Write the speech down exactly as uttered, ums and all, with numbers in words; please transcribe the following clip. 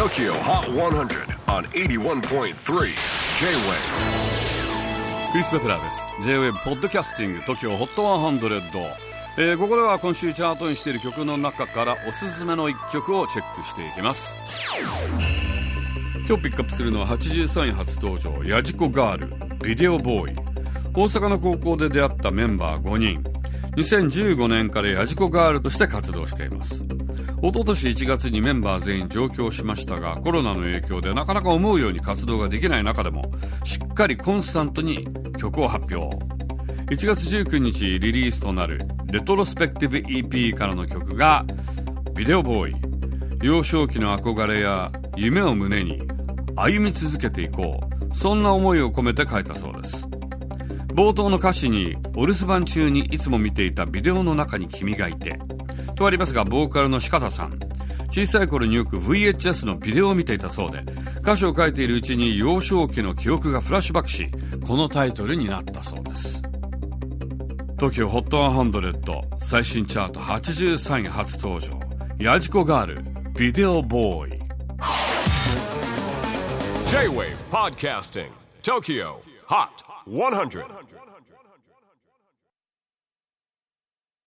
Tokyo Hot one hundred on エイティワンポイントスリー J-Wave。 クリス・ベプラーです。 J-Wave ポッドキャスティング Tokyo Hot ワンハンドレッド、えー、ここでは今週チャートにしている曲の中からおすすめのいっきょくをチェックしていきます。今日ピックアップするのははちじゅうさんい初登場、ヤジコガールビデオボーイ。大阪の高校で出会ったメンバーごにん、にせんじゅうごねんからヤジコガールとして活動しています。一昨年いちがつにメンバー全員上京しましたが、コロナの影響でなかなか思うように活動ができない中でもしっかりコンスタントに曲を発表。いちがつじゅうくにちリリースとなるレトロスペクティブ イーピー からの曲がビデオボーイ。幼少期の憧れや夢を胸に歩み続けていこう、そんな思いを込めて書いたそうです。冒頭の歌詞にお留守番中にいつも見ていたビデオの中に君がいてとありますが、ボーカルの四方さん、小さい頃によく ブイエイチエス のビデオを見ていたそうで、歌詞を書いているうちに幼少期の記憶がフラッシュバックし、このタイトルになったそうです。 Tokyo ホットワンハンドレッド最新チャートはちじゅうさんい初登場、ヤジコガールビデオボーイ。 J-Wave Podcasting Tokyo Hot ワンハンドレッド